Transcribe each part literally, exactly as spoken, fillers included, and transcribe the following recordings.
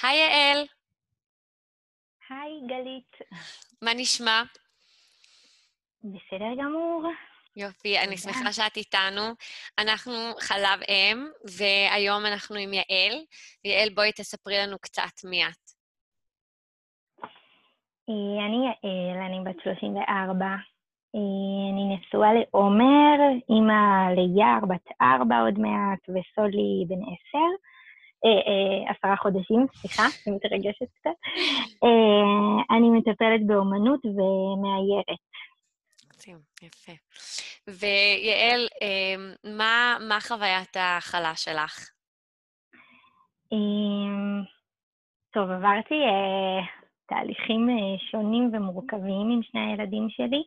היי יעל, היי גלית, מה נשמע? בסדר גמור, יופי, אני תודה. שמחה שאת איתנו. אנחנו חלב אם, והיום אנחנו עם יעל. יעל, בואי תספרי לנו קצת מי את. אה, אני יעל, אני בת שלושים וארבע. אה, אני נשואה לעומר, אימא ליער, בת ארבע עוד מעט, וסולי בן עשר. אה, אה, עשרה חודשים, סליחה, אני מתרגשת קצת. אה, אני מטפלת באומנות ומאיירת. מקסים, יפה. ויעל, אמ, מה, מה חוויית ההכלה שלך? אה, טוב, עברתי אה, תהליכים אה, שונים ומורכבים עם שני הילדים שלי.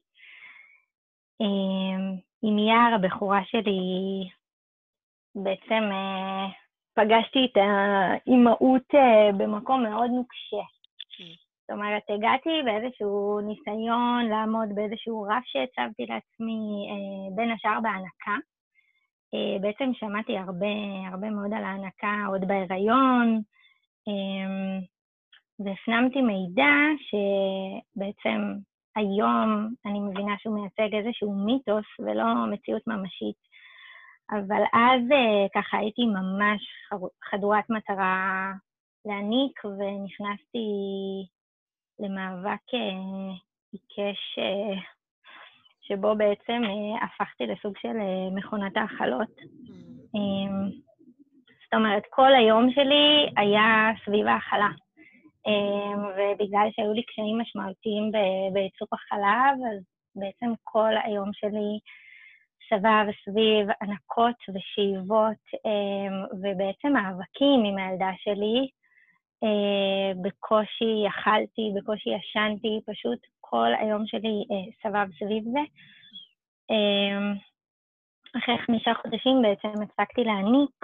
אה, עם יער, הבכורה שלי, בעצם אה, פגשתי את האימהות אה, במקום מאוד נוקשה. Mm. זאת אומרת, הגעתי באיזשהו ניסיון לעמוד באיזשהו רף שהצבתי לעצמי, אה, בין השאר בהנקה. אה, בעצם שמעתי הרבה, הרבה מאוד על ההנקה עוד בהיריון, אה, והפנמתי מידע שבעצם היום אני מבינה שהוא מייצג איזשהו מיתוס ולא מציאות ממשית. אבל אז ככה הייתי ממש חדורת מטרה להעניק, ונכנסתי למאבק עיקש, שבו בעצם הפכתי לסוג של מכונת האכלות. Mm. זאת אומרת, כל היום שלי היה סביב האכלה. ובגלל שהיו לי קשיים משמעותיים בייצור החלב, אז בעצם כל היום שלי סבב סביב ענקות ושאיבות, ובעצם מאבקים עם הילדה שלי. בקושי אכלתי, בקושי ישנתי, פשוט כל היום שלי סבב סביב זה. אחרי חמישה חודשים בעצם הפסקתי להעניק,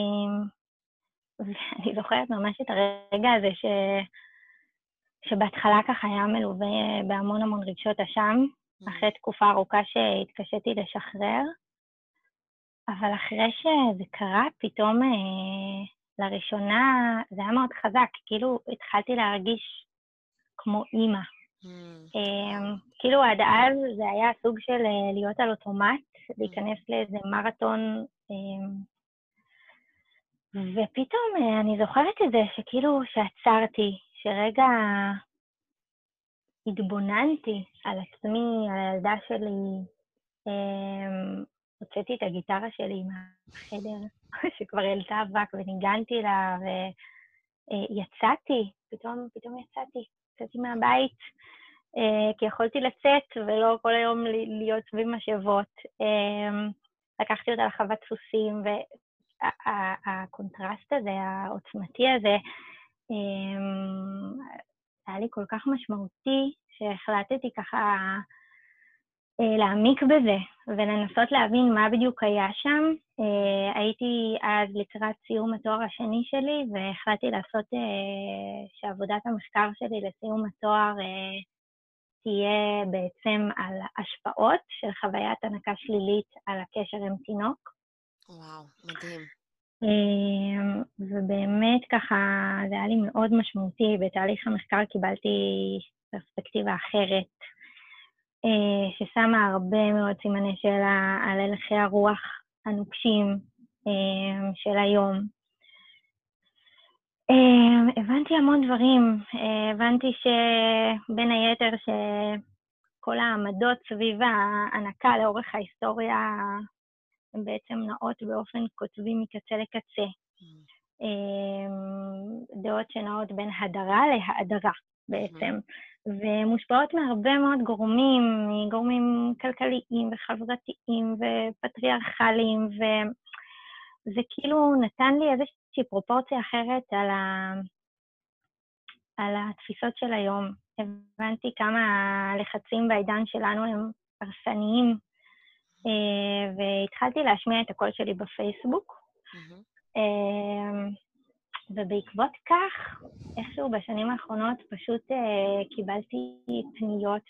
ואני זוכרת ממש את הרגע הזה ש... שבהתחלה ככה היה מלווה בהמון המון רגשות אשם, אחרי תקופה ארוכה שהתקשיתי לשחרר. אבל אחרי שזה קרה, פתאום אה, לראשונה זה היה מאוד חזק, כאילו התחלתי להרגיש כמו אימא. Mm. אה, כאילו עד אז זה היה סוג של אה, להיות על אוטומט, להיכנס לאיזה מרתון, אה, ופתאום אה, אני זוכרת את זה שכאילו שעצרתי, שרגע התבוננתי על עצמי, על הילדה שלי, אה, הוצאתי את הגיטרה שלי מהחדר, שכבר העלתה אבק, וניגנתי לה, ויצאתי, פתאום, פתאום יצאתי, יצאתי מהבית, כי יכולתי לצאת, ולא כל היום להיות סביב משאבות. לקחתי אותה לחוות סוסים, והקונטרסט הזה, העוצמתי הזה, היה לי כל כך משמעותי, שהחלטתי ככה להעמיק בזה, ולנסות להבין מה בדיוק היה שם. הייתי אז לקראת סיום התואר השני שלי, והחלטתי לעשות שעבודת המחקר שלי לסיום התואר תהיה בעצם על השפעות של חוויית הנקה שלילית על הקשר עם תינוק. וואו, מדהים. ובאמת ככה זה היה לי מאוד משמעותי. בתהליך המחקר קיבלתי פרספקטיבה אחרת, ששמה הרבה מאוד סימני שאלה על הלכי הרוח הנוקשים של היום. הבנתי המון דברים. הבנתי שבין היתר שכל העמדות סביב ההנקה לאורך ההיסטוריה הן בעצם נעות באופן כותבי מקצה לקצה. דעות שנעות בין הדרה להאדרה בעצם. ומושפעות מהרבה מאוד גורמים, גורמים כלכליים וחברתיים ופטריארכליים, וזה כאילו נתן לי איזושהי פרופורציה אחרת על, ה... על התפיסות של היום. הבנתי כמה הלחצים בעידן שלנו הם הרסניים, והתחלתי להשמיע את הקול שלי בפייסבוק, ובעקבות כך, איכשהו בשנים האחרונות פשוט uh, קיבלתי פניות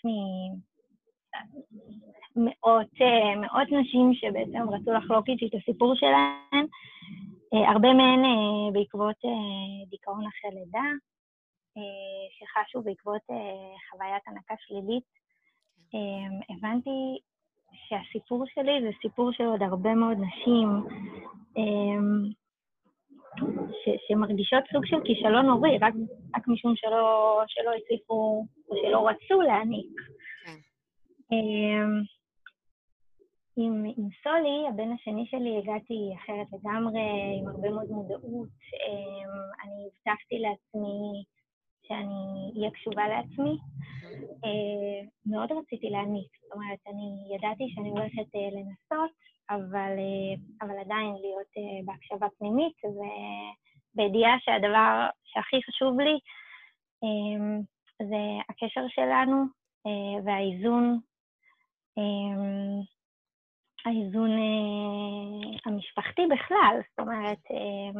ממאות uh, מאות נשים שבעצם רצו לחלוק איתי את הסיפור שלהן, אה, הרבה מהן אה, בעקבות אה, דיכאון אחרי לידה, אה, שחשו בעקבות אה, חוויית הנקה שלילית. אה, הבנתי שהסיפור שלי זה סיפור של עוד הרבה מאוד נשים, אה, ש- שמרגישות סוג של כישלון הורי, רק, רק משום שלא, שלא הצליחו או שלא רצו להעניק. כן. אמ, עם, עם סולי, הבן השני שלי, הגעתי אחרת לגמרי, עם הרבה מאוד מודעות. אמ, אני הבטחתי לעצמי שאני אהיה קשובה לעצמי. אה, מאוד רציתי להעניק, זאת אומרת, אני ידעתי שאני הולכת אה, לנסות, אבל, אה, אבל עדיין להיות אה, בהקשבה פנימית, ובידיעה שהדבר שהכי חשוב לי אה, זה הקשר שלנו אה, והאיזון, אה, האיזון אה, המשפחתי בכלל, זאת אומרת, אה,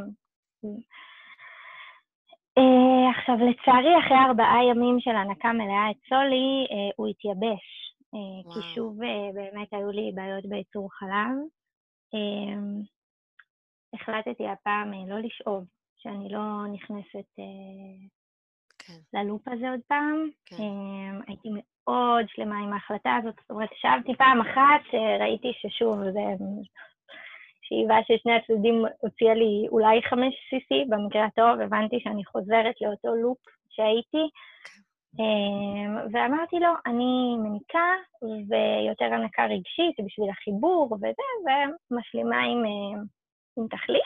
Uh, עכשיו, לצערי, אחרי ארבעה ימים של הנקה מלאה את סולי, uh, הוא התייבש. Uh, כי שוב, uh, באמת היו לי בעיות בייצור חלב. Uh, החלטתי הפעם uh, לא לשאוב, שאני לא נכנסת uh, כן. ללופ הזה עוד פעם. כן. Uh, הייתי מאוד שלמה עם ההחלטה הזאת. זאת אומרת, שבתי פעם אחת, uh, ראיתי ששוב, זה... שאיבה ששני הצדדים הוציאה לי אולי חמש סי-סי, במקרה הטוב, הבנתי שאני חוזרת לאותו לופ שהייתי, ואמרתי לו, אני מניקה ויותר הנקה רגשית בשביל החיבור וזה, ומשלימה עם, עם תחליף.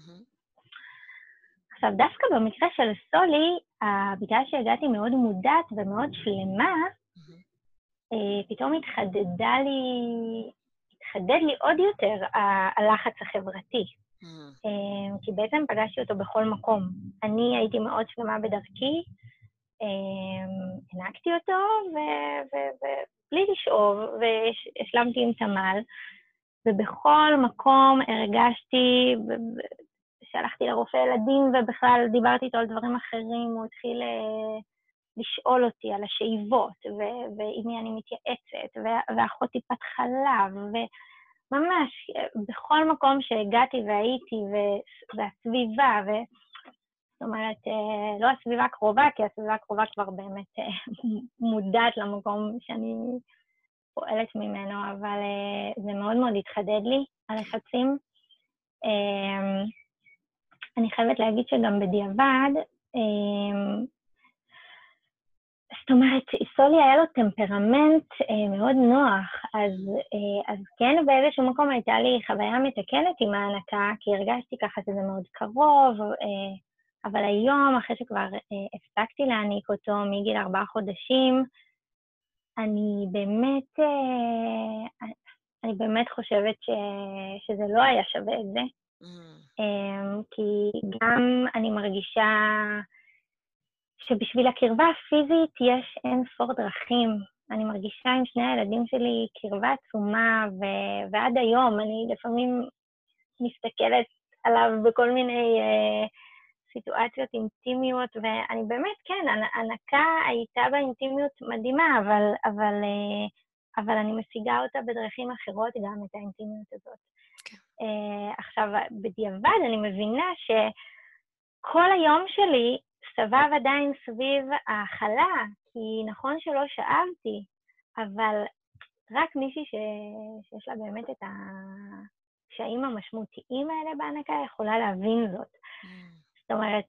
עכשיו, דווקא במקרה של סולי, בגלל שהגעתי מאוד מודעת ומאוד שלמה, פתאום התחדדה לי... חדד לי עוד יותר הלחץ החברתי, כי בעצם פגשתי אותו בכל מקום. אני הייתי מאוד שלמה בדרכי, הנקתי אותו, ובלי לשאוב, והשלמתי עם תמל, ובכל מקום הרגשתי, שהלכתי לרופא ילדים, ובכלל דיברתי איתו על דברים אחרים, הוא התחיל לשאול אותי על השאיבות, ועם מי אני מתייעצת, ואחות טיפת חלב, וממש בכל מקום שהגעתי והייתי, והסביבה, זאת אומרת, לא הסביבה הקרובה, כי הסביבה הקרובה כבר באמת מודעת למקום שאני פועלת ממנו, אבל זה מאוד מאוד התחדד לי, הלחצים. אני חייבת להגיד שגם בדיעבד, זאת אומרת, סולי היה לו טמפרמנט אה, מאוד נוח, אז, אה, אז כן באיזשהו מקום הייתה לי חוויה מתקנת עם ההנקה, כי הרגשתי ככה שזה מאוד קרוב, אה, אבל היום, אחרי שכבר אה, הפסקתי להעניק אותו מגיל ארבעה חודשים, אני באמת, אה, אני באמת חושבת ש, שזה לא היה שווה את זה, אה, כי גם אני מרגישה... שבשביל הקרבה הפיזית יש אין ספור דרכים. אני מרגישה עם שני הילדים שלי קרבה עצומה, ו- ועד היום אני לפעמים מסתכלת עליו בכל מיני אה, סיטואציות אינטימיות, ואני באמת, כן, הנקה הייתה באינטימיות מדהימה, אבל, אבל, אה, אבל אני משיגה אותה בדרכים אחרות גם את האינטימיות הזאת. Okay. אה, עכשיו, בדיעבד אני מבינה שכל היום שלי, סבב עדיין סביב ההאכלה, כי נכון שלא שאבתי, אבל רק מישהי ש... שיש לה באמת את הקשיים המשמעותיים האלה בהנקה יכולה להבין זאת. Mm. זאת אומרת,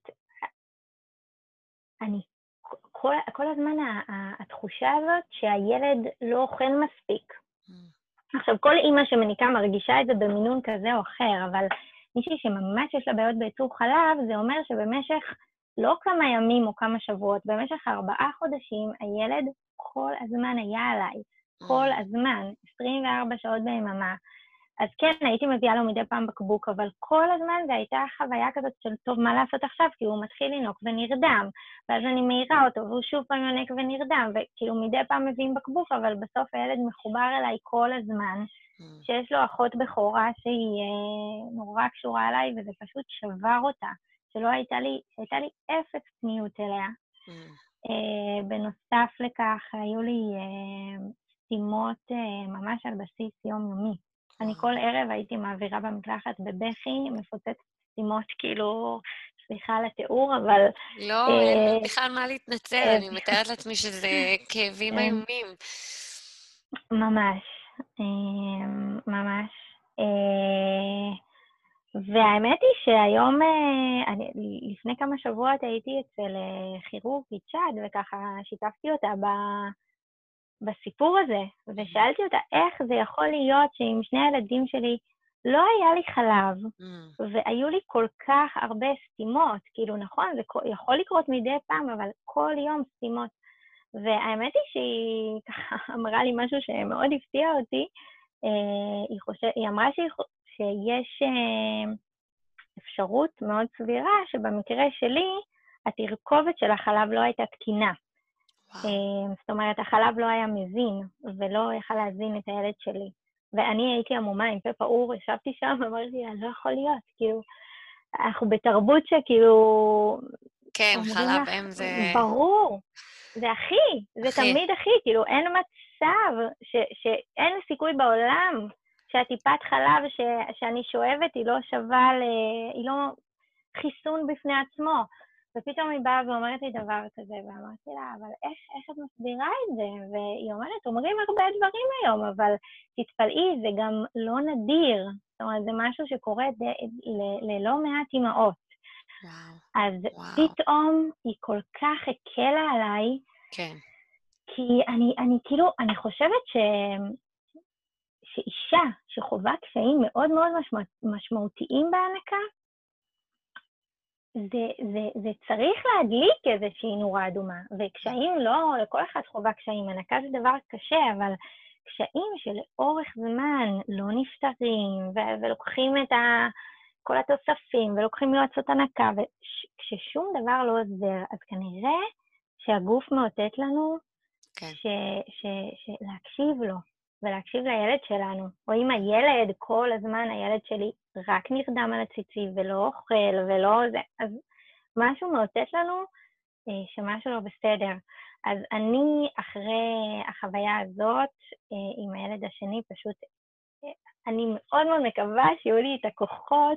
אני, כל, כל הזמן התחושה הזאת שהילד לא אוכל מספיק. Mm. עכשיו, כל אימא שמניקה מרגישה את זה במינון כזה או אחר, אבל מישהי שממש יש לה בעיות בייצור חלב, זה אומר שבמשך לא כמה ימים או כמה שבועות, במשך ארבעה חודשים הילד כל הזמן היה עליי, כל הזמן, עשרים וארבע שעות ביממה. אז כן, הייתי מביאה לו מדי פעם בקבוק, אבל כל הזמן זה הייתה חוויה כזאת של טוב, מה לעשות עכשיו? כי הוא מתחיל לנוק ונרדם, ואז אני מעירה אותו, והוא שוב פעם ינק ונרדם, וכאילו מדי פעם מביאים בקבוק, אבל בסוף הילד מחובר אליי כל הזמן, שיש לו אחות בכורה שהיא אה, נורא קשורה אליי, וזה פשוט שבר אותה. שלא הייתה לי, הייתה לי אפס פניות אליה. Mm. Uh, בנוסף לכך, היו לי uh, סתימות uh, ממש על בסיס יומיומי. Mm. אני כל ערב הייתי מעבירה במקלחת בבכי, מפוצצת סתימות, כאילו, סליחה על התיאור, אבל... לא, אין בכלל מה להתנצל, אני מתארת לעצמי שזה כאבים איומים. ממש, ממש. והאמת היא שהיום, אני, לפני כמה שבועות הייתי אצל כירורגית שד, וככה שיתפתי אותה ב, בסיפור הזה, ושאלתי אותה איך זה יכול להיות שעם שני הילדים שלי לא היה לי חלב, mm. והיו לי כל כך הרבה סתימות, כאילו נכון, זה יכול לקרות מדי פעם, אבל כל יום סתימות. והאמת היא שהיא ככה אמרה לי משהו שמאוד הפתיע אותי, היא, חושב, היא אמרה שהיא, שיש אפשרות מאוד סבירה שבמקרה שלי, התרכובת של החלב לא הייתה תקינה. וואו. זאת אומרת, החלב לא היה מזין, ולא יכל להזין את הילד שלי. ואני הייתי עמומה עם פה פעור, ישבתי שם ואמרתי, לא יכול להיות, כאילו, אנחנו בתרבות שכאילו... כן, חלב אם זה... ברור, זה אחי, זה אחי. תמיד אחי, כאילו, אין מצב ש, שאין סיכוי בעולם שהטיפת חלב ש, שאני שואבת היא לא שווה, ל, היא לא חיסון בפני עצמו. ופתאום היא באה ואומרת לי דבר כזה, ואמרתי לה, אבל איך, איך את מסבירה את זה? והיא אומרת, אומרים הרבה דברים היום, אבל תתפלאי, זה גם לא נדיר. זאת אומרת, זה משהו שקורה ד, ל, ללא מעט אמהות. וואו. אז וואו. פתאום היא כל כך הקלה עליי, כן. כי אני, אני כאילו, אני חושבת ש... שאישה שחווה קשיים מאוד מאוד משמע... משמעותיים בהנקה, זה, זה, זה צריך להדליק איזושהי נורה אדומה, וקשיים לא, לכל אחד חווה קשיים, הנקה זה דבר קשה, אבל קשיים שלאורך זמן לא נפתרים, ו- ולוקחים את ה... כל התוספים, ולוקחים יועצות הנקה, וכששום דבר לא עוזר, אז כנראה שהגוף מאותת לנו כן. ש, ש, ש, להקשיב לו, ולהקשיב לילד שלנו. או אם הילד, כל הזמן הילד שלי רק נרדם על הציצי, ולא אוכל, ולא זה, אז משהו מאותת לנו שמשהו לא בסדר. אז אני, אחרי החוויה הזאת, עם הילד השני, פשוט, אני מאוד מאוד מקווה שיהיו לי את הכוחות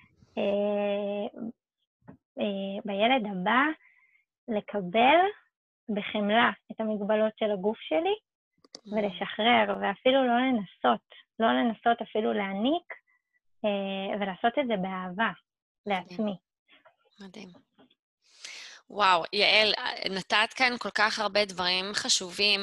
אה, אה, בילד הבא לקבל בחמלה את המגבלות של הגוף שלי ולשחרר, ואפילו לא לנסות, לא לנסות אפילו להעניק, אה, ולעשות את זה באהבה לעצמי. מדהים. וואו, יעל, נתת כאן כל כך הרבה דברים חשובים,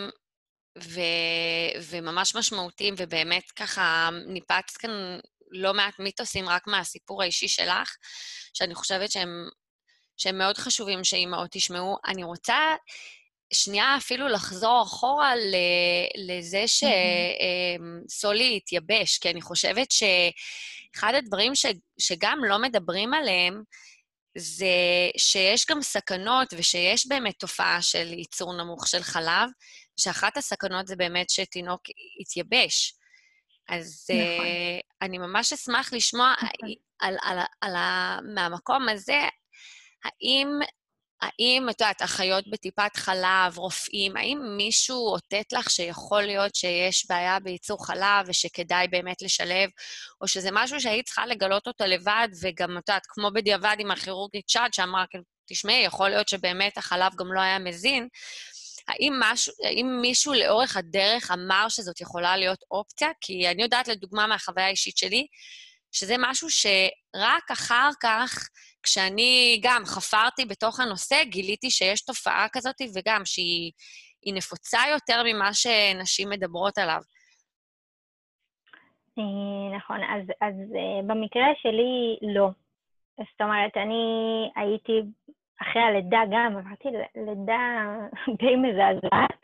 ו- וממש משמעותיים, ובאמת ככה ניפצת כאן לא מעט מיתוסים רק מהסיפור האישי שלך, שאני חושבת שהם, שהם מאוד חשובים שאימהות תשמעו. אני רוצה שנייה אפילו לחזור אחורה לזה שסולי התייבש, כי אני חושבת שאחד הדברים ש- שגם לא מדברים עליהם, זה שיש גם סכנות, ושיש באמת תופעה של ייצור נמוך של חלב, שאחת הסכנות זה באמת שתינוק יתייבש. אז נכון. uh, אני ממש אשמח לשמוע נכון. על, על, על, על, מהמקום הזה, האם, האם, את יודעת, אחיות בטיפת חלב, רופאים, האם מישהו אותת לך שיכול להיות שיש בעיה בייצור חלב, ושכדאי באמת לשלב, או שזה משהו שהיית צריכה לגלות אותו לבד, וגם, את יודעת, כמו בדיעבד עם הכירורגית שד, שאמרה, תשמעי, יכול להיות שבאמת החלב גם לא היה מזין, האם, משהו, האם מישהו לאורך הדרך אמר שזאת יכולה להיות אופציה? כי אני יודעת לדוגמה מהחוויה האישית שלי, שזה משהו שרק אחר כך, כשאני גם חפרתי בתוך הנושא, גיליתי שיש תופעה כזאת, וגם שהיא נפוצה יותר ממה שנשים מדברות עליו. נכון, אז, אז במקרה שלי לא. זאת אומרת, אני הייתי אחרי הלידה גם, עברתי לידה די מזעזעת,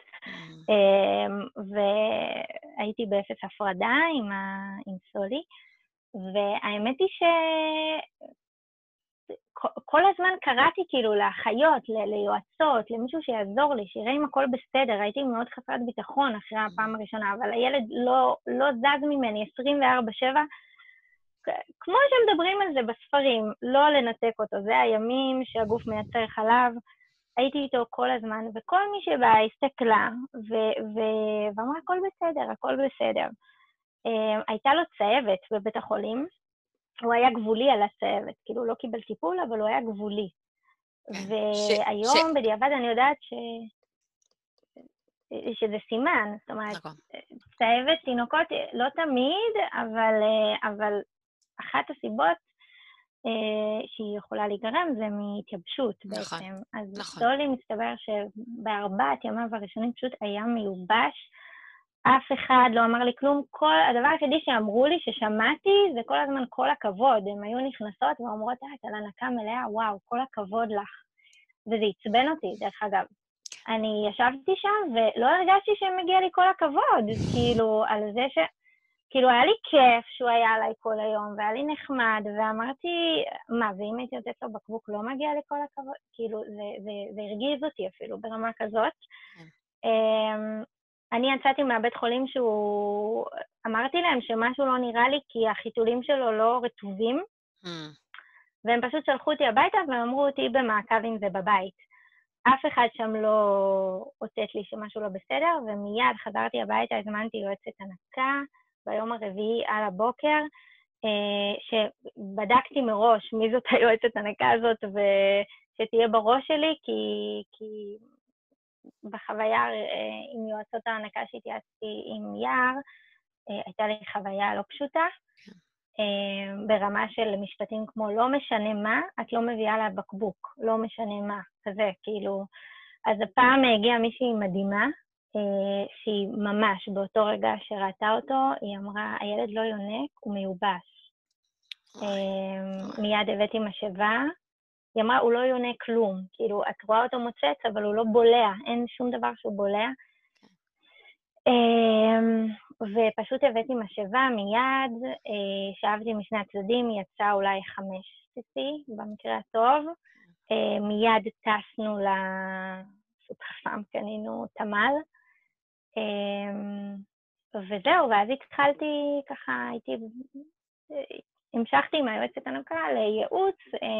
והייתי באפס הפרדה עם, ה... עם סולי, והאמת היא שכל הזמן קראתי כאילו לאחיות, ל... ליועצות, למישהו שיעזור לי, שיראה אם הכל בסדר, הייתי מאוד חסרת ביטחון אחרי הפעם הראשונה, אבל הילד לא, לא זז ממני עשרים וארבע שבע, כמו שמדברים על זה בספרים, לא לנתק אותו, זה הימים שהגוף מייצר חלב, הייתי איתו כל הזמן, וכל מי שבא הסתכלה, ו- ו- ואמרה, הכל בסדר, הכל בסדר. Uh, הייתה לו צהבת בבית החולים, הוא היה גבולי על הצהבת, כאילו הוא לא קיבל טיפול, אבל הוא היה גבולי. כן. ש... ש... והיום בדיעבד אני יודעת ש... שזה סימן, זאת אומרת, נכון. צהבת תינוקות לא תמיד, אבל, אבל אחת הסיבות אה, שהיא יכולה להיגרם זה מהתייבשות נכון. בעצם. אז נכון. סולי מסתבר שבארבעת ימיו הראשונים פשוט היה מיובש, אף אחד לא אמר לי כלום, כל הדבר היחידי שאמרו לי, ששמעתי, זה כל הזמן כל הכבוד, הן היו נכנסות ואומרות, אה, את על הנקה מלאה, וואו, כל הכבוד לך. וזה עצבן אותי, דרך אגב. אני ישבתי שם ולא הרגשתי שמגיע לי כל הכבוד, כאילו, על זה ש... כאילו, היה לי כיף שהוא היה עליי כל היום, והיה לי נחמד, ואמרתי, מה, ואם הייתי יוצאת לו בקבוק, לא מגיע לי כל הכבוד? כאילו, זה, זה, זה הרגיז אותי אפילו ברמה כזאת. Um, אני יצאתי מהבית חולים שהוא... אמרתי להם שמשהו לא נראה לי, כי החיתולים שלו לא רטובים, והם פשוט שלחו אותי הביתה, והם אמרו אותי במעקב עם זה בבית. אף אחד שם לא אותת לי שמשהו לא בסדר, ומיד חזרתי הביתה, הזמנתי יועצת הנקה, ביום הרביעי על הבוקר, שבדקתי מראש מי זאת היועצת הנקה הזאת, ושתהיה בראש שלי, כי, כי בחוויה עם יועצות ההנקה שהתייעצתי עם יער, הייתה לי חוויה לא פשוטה, ברמה של משפטים כמו לא משנה מה, את לא מביאה לה בקבוק, לא משנה מה, כזה, כאילו. אז הפעם הגיעה מישהי מדהימה, שהיא ממש באותו רגע שראתה אותו, היא אמרה, הילד לא יונק, הוא מיובש. מיד הבאתי משאבה, היא אמרה, הוא לא יונק כלום, כאילו, את רואה אותו מוצץ, אבל הוא לא בולע, אין שום דבר שהוא בולע. ופשוט הבאתי משאבה מיד, שאבתי משני הצדדים, יצא אולי חמש סיסי, במקרה הטוב. מיד טסנו לסופרפארם, קנינו תמל. וזהו, ואז התחלתי ככה, הייתי, המשכתי עם היועצת הנקה לייעוץ,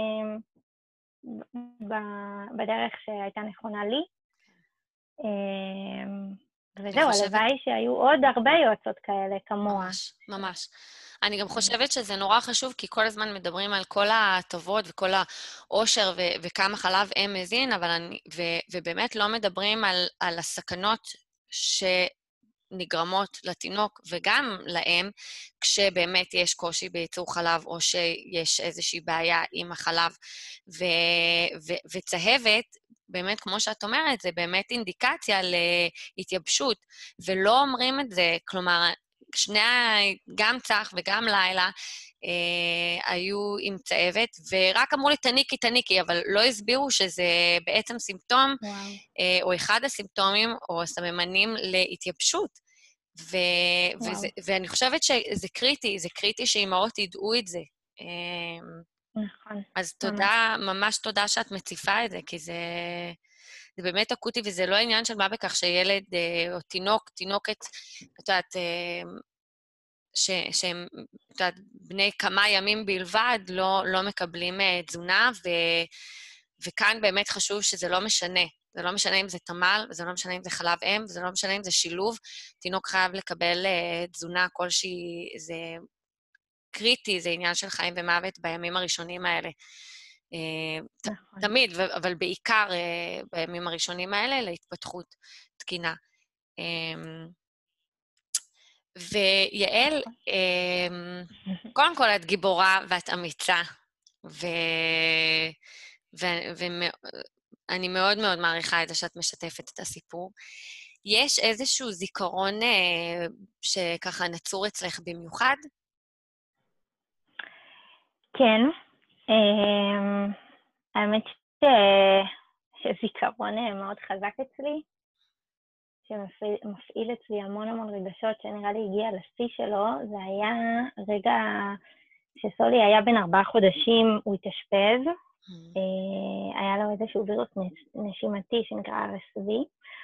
בדרך שהייתה נכונה לי. וזהו, הלוואי שהיו עוד הרבה יועצות כאלה כמוה. ממש, ממש. אני גם חושבת שזה נורא חשוב, כי כל הזמן מדברים על כל הטובות וכל העושר ו- וכמה חלב אם מזין, אבל אני, ו- ובאמת לא מדברים על, על הסכנות שנגרמות לתינוק וגם לאם, כשבאמת יש קושי בייצור חלב או שיש איזושהי בעיה עם החלב. ו- ו- וצהבת, באמת, כמו שאת אומרת, זה באמת אינדיקציה להתייבשות, ולא אומרים את זה, כלומר, שני, גם צח וגם לילה, אה, היו עם צהבת, ורק אמרו לי, תניקי, תניקי, אבל לא הסבירו שזה בעצם סימפטום, אה, או אחד הסימפטומים, או הסממנים להתייבשות. ו- וזה, ואני חושבת שזה קריטי, זה קריטי שאימהות ידעו את זה. אה, נכון. אז תודה, ממש תודה שאת מציפה את זה, כי זה... זה באמת אקוטי, וזה לא עניין של מה בכך שילד אה, או תינוק, תינוקת, את יודעת, אה, ש- שהם, את יודעת, בני כמה ימים בלבד, לא, לא מקבלים אה, תזונה, ו, וכאן באמת חשוב שזה לא משנה. זה לא משנה אם זה תמל, וזה לא משנה אם זה חלב אם, וזה לא משנה אם זה שילוב. תינוק חייב לקבל אה, תזונה כלשהי, זה קריטי, זה עניין של חיים ומוות בימים הראשונים האלה. נכון. תמיד, אבל בעיקר בימים הראשונים האלה, להתפתחות תקינה. ויעל, קודם כל את גיבורה ואת אמיצה, ואני מאוד מאוד מעריכה את זה שאת משתפת את הסיפור. יש איזשהו זיכרון שככה נצור אצלך במיוחד? כן. האמת שזיכרון מאוד חזק אצלי, שמפעיל אצלי המון המון רגשות, שנראה לי הגיע לשיא שלו, זה היה רגע שסולי היה בן ארבעה חודשים, הוא התאשפז, היה לו איזשהו וירוס נשימתי שנקרא אר אס וי,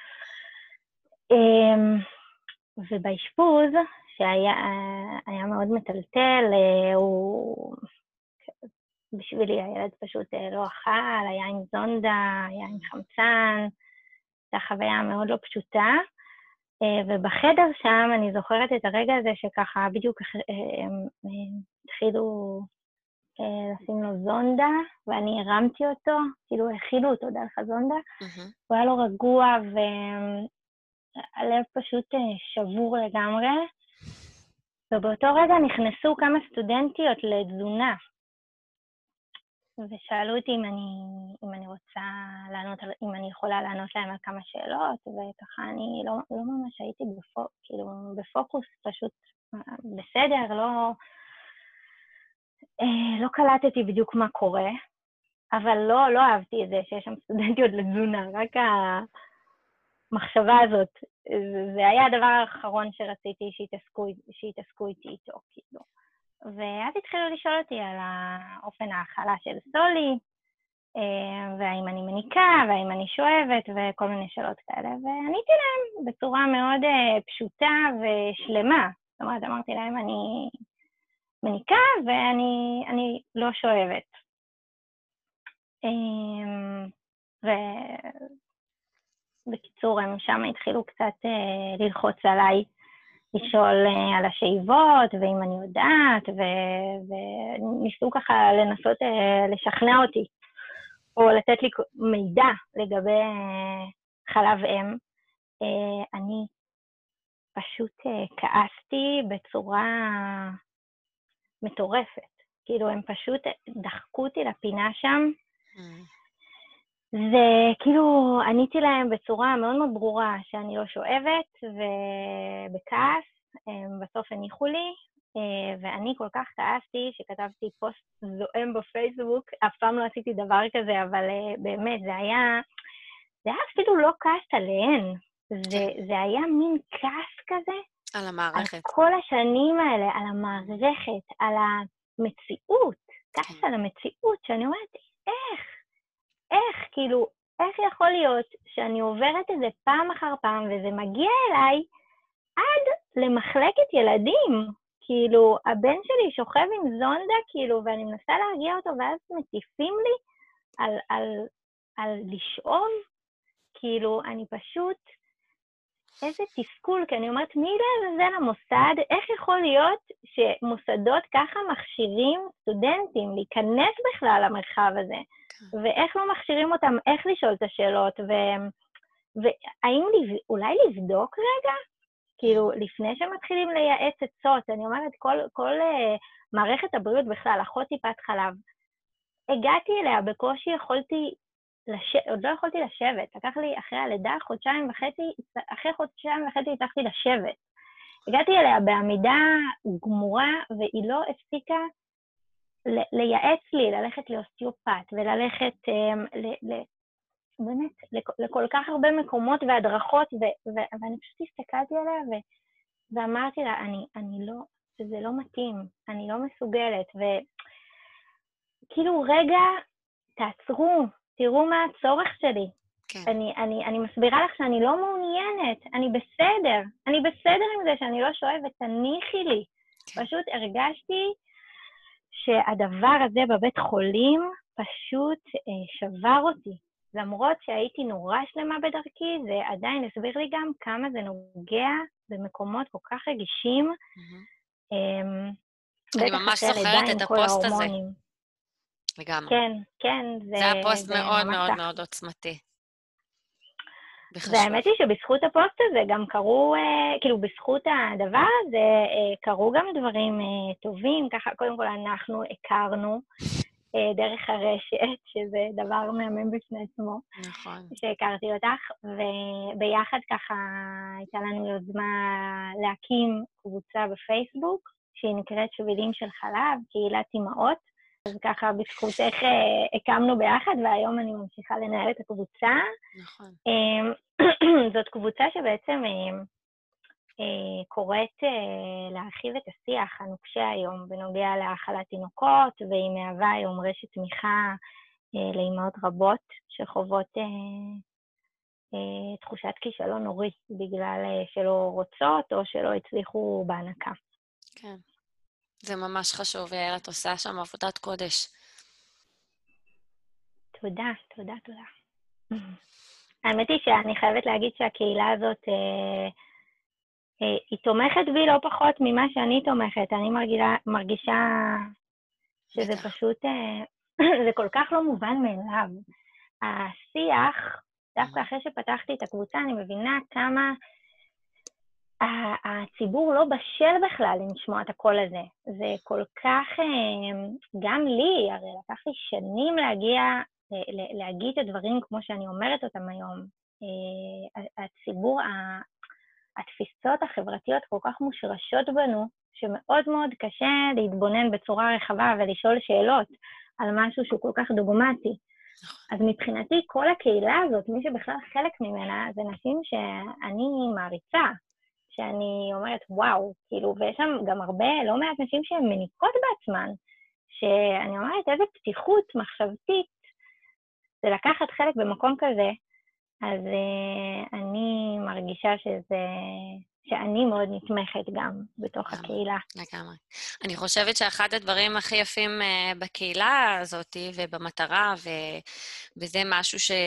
ובאשפוז, שהיה מאוד מטלטל, הוא... בשבילי הילד פשוט לא אכל, היה עם זונדה, היה עם חמצן, זו חוויה מאוד לא פשוטה, ובחדר שם אני זוכרת את הרגע הזה שככה בדיוק התחילו לשים לו זונדה, ואני הרמתי אותו, כאילו הכילו אותו דרך הזונדה, מהמם. הוא היה לו רגוע, והלב פשוט שבור לגמרי, ובאותו רגע נכנסו כמה סטודנטיות לתזונה, ושאלו אותי אם אני, אם אני רוצה לענות, אם אני יכולה לענות להם על כמה שאלות, וככה אני לא, לא ממש הייתי בפוק, כאילו, בפוקוס, פשוט בסדר, לא, לא קלטתי בדיוק מה קורה, אבל לא, לא אהבתי את זה שיש שם סטודנטיות לתזונה, רק המחשבה הזאת, זה היה הדבר האחרון שרציתי שיתעסקו, שיתעסקו איתי איתו, כאילו. ואז התחילו לשאול אותי על האופן ההאכלה של סולי, והאם אני מניקה, והאם אני שואבת, וכל מיני שאלות כאלה, ועניתי להם בצורה מאוד פשוטה ושלמה. זאת אומרת, אמרתי להם, אני מניקה, ואני אני לא שואבת. ובקיצור, הם שם התחילו קצת ללחוץ עליי, לשאול על השאיבות, ואם אני יודעת, וניסו ככה לנסות לשכנע אותי, או לתת לי מידע לגבי חלב אם. אני פשוט כעסתי בצורה מטורפת. כאילו, הם פשוט דחקו אותי לפינה שם, וכאילו עניתי להם בצורה מאוד מאוד ברורה שאני לא שואבת, ובכעס, בסוף הניחו לי, ואני כל כך כעסתי שכתבתי פוסט זועם בפייסבוק, אף פעם לא עשיתי דבר כזה, אבל באמת זה היה, זה היה אפילו לא כעס עליהן, זה, זה היה מין כעס כזה, על המערכת. על כל השנים האלה, על המערכת, על המציאות, כעס על המציאות, שאני אומרת, איך? איך, כאילו, איך יכול להיות שאני עוברת את זה פעם אחר פעם, וזה מגיע אליי עד למחלקת ילדים? כאילו, הבן שלי שוכב עם זונדה, כאילו, ואני מנסה להרגיע אותו, ואז מטיפים לי על, על, על לשאוב, כאילו, אני פשוט, איזה תסכול, כי אני אומרת, מי לעזאזל המוסד, איך יכול להיות שמוסדות ככה מכשירים סטודנטים להיכנס בכלל למרחב הזה, ואיך לא מכשירים אותם, איך לשאול את השאלות, ו... והאם לב... אולי לבדוק רגע? כאילו, לפני שמתחילים לייעץ עצות, אני אומרת, כל, כל uh, מערכת הבריאות בכלל, אחות טיפת חלב, הגעתי אליה, בקושי יכולתי, לש... עוד לא יכולתי לשבת, לקח לי אחרי הלידה, חודשיים וחצי, אחרי חודשיים וחצי הצלחתי לשבת. הגעתי אליה בעמידה גמורה, והיא לא הפסיקה לייעץ לי, ללכת לאוסטיופט, וללכת, um, ל... ל... באמת, לכל כך הרבה מקומות והדרכות, ו- ו- ואני פשוט הסתכלתי עליה, ו- ואמרתי לה, אני, אני לא, זה לא מתאים, אני לא מסוגלת, וכאילו, רגע, תעצרו, תראו מה הצורך שלי. כן. אני, אני, אני מסבירה לך שאני לא מעוניינת, אני בסדר, אני בסדר עם זה שאני לא שואבת, תניחי לי. כן. פשוט הרגשתי שהדבר הזה בבית חולים פשוט אה, שבר אותי. למרות שהייתי נורא שלמה בדרכי, זה עדיין הסביר לי גם כמה זה נוגע במקומות כל כך רגישים. אני ממש זוכרת את הפוסט הזה. לגמרי. כן, כן. זה היה פוסט מאוד מאוד מאוד עוצמתי. והאמת היא שבזכות הפוסט הזה גם קרו, כאילו בזכות הדבר הזה, קרו גם דברים טובים. ככה, קודם כל אנחנו הכרנו, דרך הרשת, שזה דבר מהמם בפני עצמו. נכון. שהכרתי אותך, וביחד ככה הייתה לנו יוזמה להקים קבוצה בפייסבוק, שהיא נקראת שבילים של חלב, קהילת אימהות, אז ככה בזכותך הקמנו ביחד, והיום אני ממשיכה לנהל את הקבוצה. נכון. זאת קבוצה שבעצם קוראת להרחיב את השיח הנוקשה היום בנוגע להאכלת תינוקות, והיא מהווה היום רשת תמיכה לאימהות רבות שחוות תחושת כישלון נורי בגלל שלא רוצות או שלא הצליחו בהנקה. כן, זה ממש חשוב, יעל, את עושה שם עבודת קודש. תודה, תודה, תודה. האמת היא שאני חייבת להגיד שהקהילה הזאת היא תומכת בי לא פחות ממה שאני תומכת. אני מרגישה, מרגישה שזה בטח. פשוט, זה כל כך לא מובן מאליו. השיח, דווקא אחרי שפתחתי את הקבוצה, אני מבינה כמה הציבור לא בשל בכלל לשמוע את הקול הזה. זה כל כך, גם לי, הרי לקח לי שנים להגיע, להגיד את הדברים כמו שאני אומרת אותם היום. הציבור, התפיסות החברתיות כל כך מושרשות בנו, שמאוד מאוד קשה להתבונן בצורה רחבה ולשאול שאלות על משהו שהוא כל כך דוגמטי. אז מבחינתי, כל הקהילה הזאת, מי שבכלל חלק ממנה, זה נשים שאני מעריצה, שאני אומרת, וואו, כאילו, ויש שם גם הרבה, לא מעט נשים שהן מניקות בעצמן, שאני אומרת, איזה פתיחות מחשבתית, זה לקחת חלק במקום כזה, אז uh, אני מרגישה שזה, שאני מאוד נתמכת גם בתוך לגמרי, הקהילה. לגמרי. אני חושבת שאחד הדברים הכי יפים uh, בקהילה הזאת ובמטרה, ו... וזה משהו ש...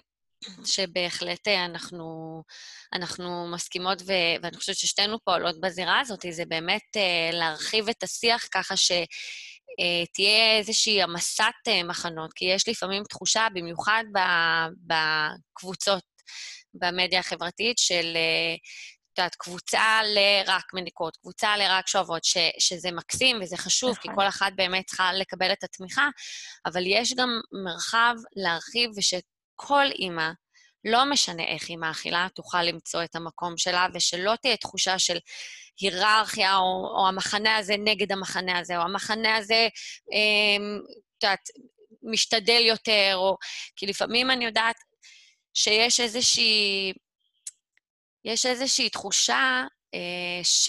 שבהחלט אנחנו, אנחנו מסכימות, ו... ואני חושבת ששתינו פועלות בזירה הזאת, זה באמת uh, להרחיב את השיח ככה ש... Uh, תהיה איזושהי המסת uh, מחנות, כי יש לפעמים תחושה, במיוחד בקבוצות, במדיה החברתית, של את יודעת, קבוצה לרק מניקות, קבוצה לרק שואבות, ש, שזה מקסים וזה חשוב, כי נכון. כל אחת באמת צריכה לקבל את התמיכה, אבל יש גם מרחב להרחיב, ושכל אימא, לא משנה איך היא מאכילה, תוכל למצוא את המקום שלה, ושלא תהיה תחושה של היררכיה, או, או המחנה הזה נגד המחנה הזה, או המחנה הזה, את יודעת, משתדל יותר, או... כי לפעמים אני יודעת שיש איזושהי... יש איזושהי תחושה אה, ש...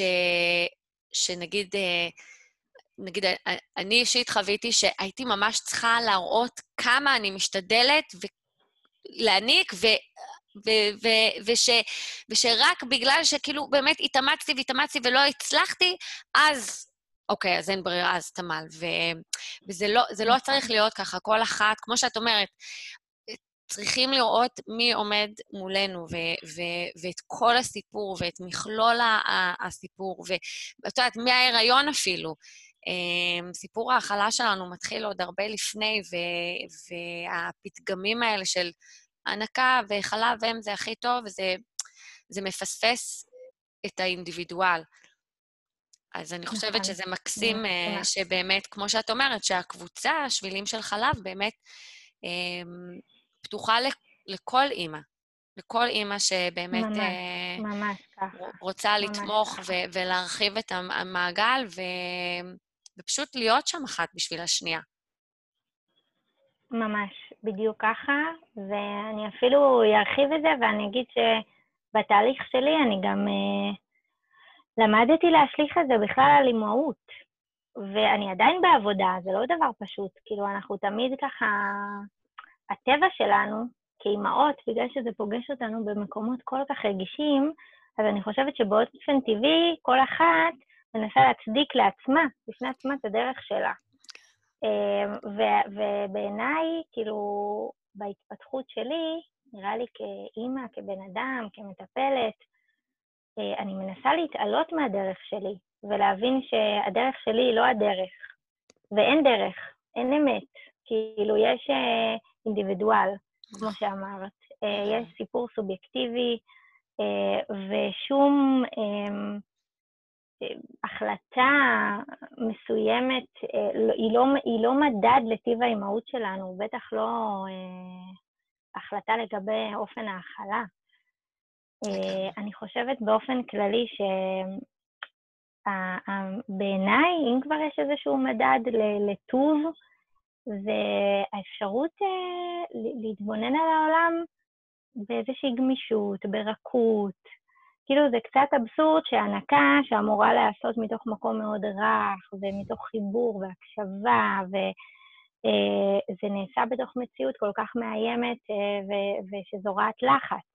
שנגיד, אה, נגיד, אני אישית חוויתי שהייתי ממש צריכה להראות כמה אני משתדלת ולהעניק, ו... ו... ו... וש... ושרק בגלל שכאילו באמת התאמצתי והתאמצתי ולא הצלחתי, אז, אוקיי, אז אין ברירה, אז תמל. ו... וזה לא, זה לא צריך להיות ככה, כל אחת, כמו שאת אומרת, צריכים לראות מי עומד מולנו, ו- ו- ואת כל הסיפור, ואת מכלול הסיפור, ואת יודעת, מההיריון אפילו. סיפור ההאכלה שלנו מתחיל עוד הרבה לפני, ו- והפתגמים האלה של הנקה וחלב אם זה הכי טוב, וזה זה מפספס את האינדיבידואל. אז אני חושבת נכון. שזה מקסים שבאמת, כמו שאת אומרת, שהקבוצה, השבילים של חלב, באמת פתוחה לכל אימא, לכל אימא שבאמת ממש, ממש ככה. רוצה ממש לתמוך ככה. ו- ולהרחיב את המעגל, ו- ופשוט להיות שם אחת בשביל השנייה. ממש, בדיוק ככה, ואני אפילו ארחיב את זה, ואני אגיד שבתהליך שלי אני גם uh, למדתי להשליך את זה בכלל על אימהות, ואני עדיין בעבודה, זה לא דבר פשוט, כאילו אנחנו תמיד ככה, הטבע שלנו כאימהות, בגלל שזה פוגש אותנו במקומות כל כך רגישים, אז אני חושבת שבאופן טבעי כל אחת מנסה להצדיק לעצמה, בפני עצמה את הדרך שלה. ו- ובעיניי, כאילו, בהתפתחות שלי, נראה לי כאימא, כבן אדם, כמטפלת, אני מנסה להתעלות מהדרך שלי, ולהבין שהדרך שלי היא לא הדרך, ואין דרך, אין אמת, כאילו יש אינדיבידואל, כמו שאמרת, יש סיפור סובייקטיבי, ושום החלטה מסוימת, היא לא, היא לא מדד לטיב האימהות שלנו, בטח לא החלטה לגבי אופן ההאכלה. אני חושבת באופן כללי שבעיניי, אם כבר יש איזשהו מדד לטוב, זה האפשרות להתבונן על העולם באיזושהי גמישות, ברכות. כאילו זה קצת אבסורד שהנקה שאמורה לעשות מתוך מקום מאוד רך, ומתוך חיבור והקשבה, וזה נעשה בתוך מציאות כל כך מאיימת ושזורעת לחץ.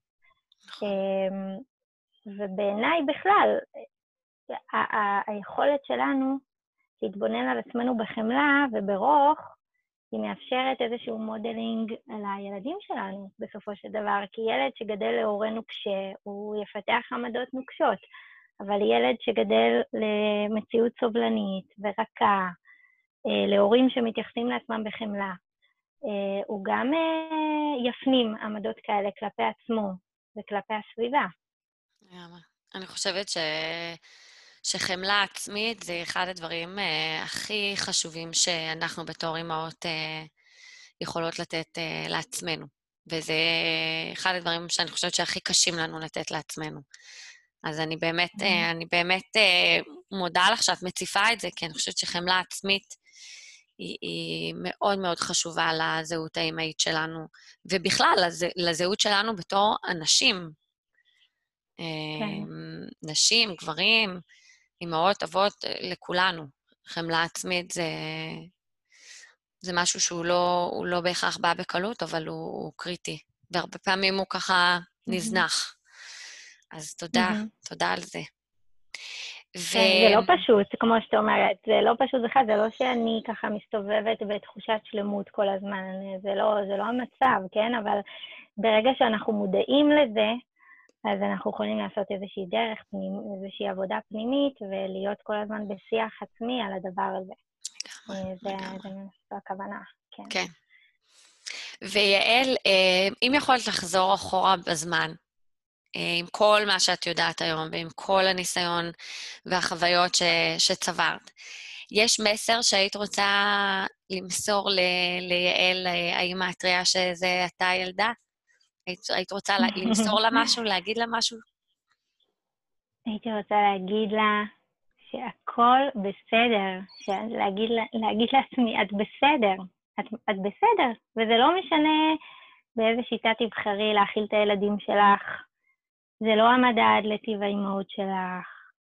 ובעיניי בכלל, היכולת שלנו להתבונן על עצמנו בחמלה וברוך, היא מאפשרת איזשהו מודלינג על הילדים שלנו בסופו של דבר, כי ילד שגדל להורה נוקשה, הוא יפתח עמדות נוקשות, אבל ילד שגדל למציאות סובלנית ורכה, להורים שמתייחסים לעצמם בחמלה. הוא גם יפנים עמדות כאלה כלפי עצמו וכלפי הסביבה. אני חושבת ש... שחמלה עצמית זה אחד הדברים uh, הכי חשובים שאנחנו בתור אימהות uh, יכולות לתת uh, לעצמנו. וזה אחד הדברים שאני חושבת שהכי קשים לנו לתת לעצמנו. אז אני באמת, mm-hmm. uh, אני באמת uh, מודה לך שאת מציפה את זה, כי אני חושבת שחמלה עצמית היא, היא מאוד מאוד חשובה לזהות האימהית שלנו, ובכלל לז... לזהות שלנו בתור אנשים. כן. נשים, גברים, אמהות, אבות, לכולנו. חמלה עצמית זה, זה משהו שהוא לא, הוא לא בהכרח בא בקלות, אבל הוא, הוא קריטי. והרבה פעמים הוא ככה נזנח. אז תודה, תודה על זה. כן, זה לא פשוט, כמו שאת אומרת, זה לא פשוט בכלל, זה לא שאני ככה מסתובבת בתחושת שלמות כל הזמן, זה לא, זה לא המצב, כן? אבל ברגע שאנחנו מודעים לזה, אז אנחנו יכולים לעשות איזושהי דרך, איזושהי עבודה פנימית, ולהיות כל הזמן בשיח עצמי על הדבר הזה. זה הכוונה, כן. כן. ויעל, אם יכולת לחזור אחורה בזמן, עם כל מה שאת יודעת היום, ועם כל הניסיון והחוויות ש, שצברת, יש מסר שהיית רוצה למסור ל, ליעל, האמא הטריה שזה אתה ילדה? היית, היית רוצה למסור לה משהו, להגיד לה משהו? הייתי רוצה להגיד לה שהכל בסדר, להגיד, להגיד לעצמי, את בסדר, את, את בסדר, וזה לא משנה באיזה שיטה תבחרי להאכיל את הילדים שלך, זה לא המדד לטיב האימהות שלך,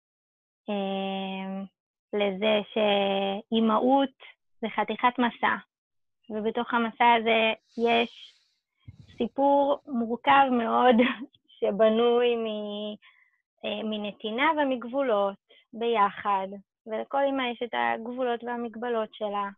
לזה שאימהות זה חתיכת מסע, ובתוך המסע הזה יש סיפור מורכב מאוד שבנוי מנתינה ומגבולות ביחד, ולכל אמא יש את הגבולות והמגבלות שלה.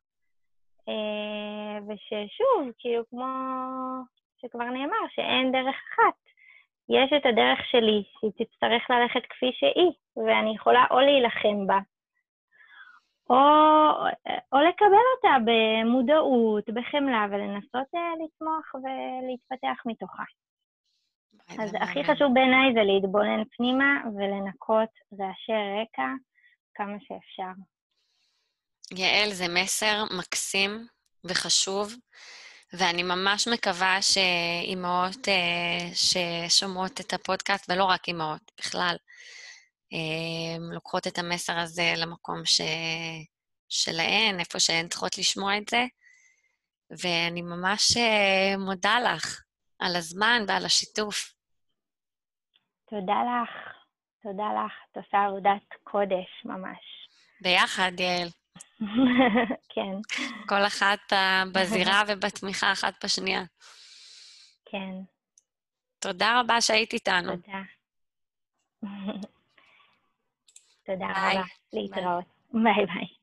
וששוב, כאילו כמו שכבר נאמר, שאין דרך אחת. יש את הדרך שלי, שהיא תצטרך ללכת כפי שהיא, ואני יכולה או להילחם בה, או, או לקבל אותה במודעות, בחמלה, ולנסות לצמוח ולהתפתח מתוכה. אז הכי חשוב בעיניי זה להתבונן פנימה ולנקות רעשי רקע כמה שאפשר. יעל, זה מסר מקסים וחשוב, ואני ממש מקווה שאימהות ששומעות את הפודקאסט, ולא רק אימהות, בכלל, לוקחות את המסר הזה למקום ש... שלהן, איפה שהן צריכות לשמוע את זה, ואני ממש מודה לך על הזמן ועל השיתוף. תודה לך, תודה לך, את עושה עבודת קודש ממש. ביחד, יעל. כן. כל אחת בזירה ובתמיכה אחת בשנייה. כן. תודה רבה שהיית איתנו. תודה. תודה רבה. להתראות. ביי ביי.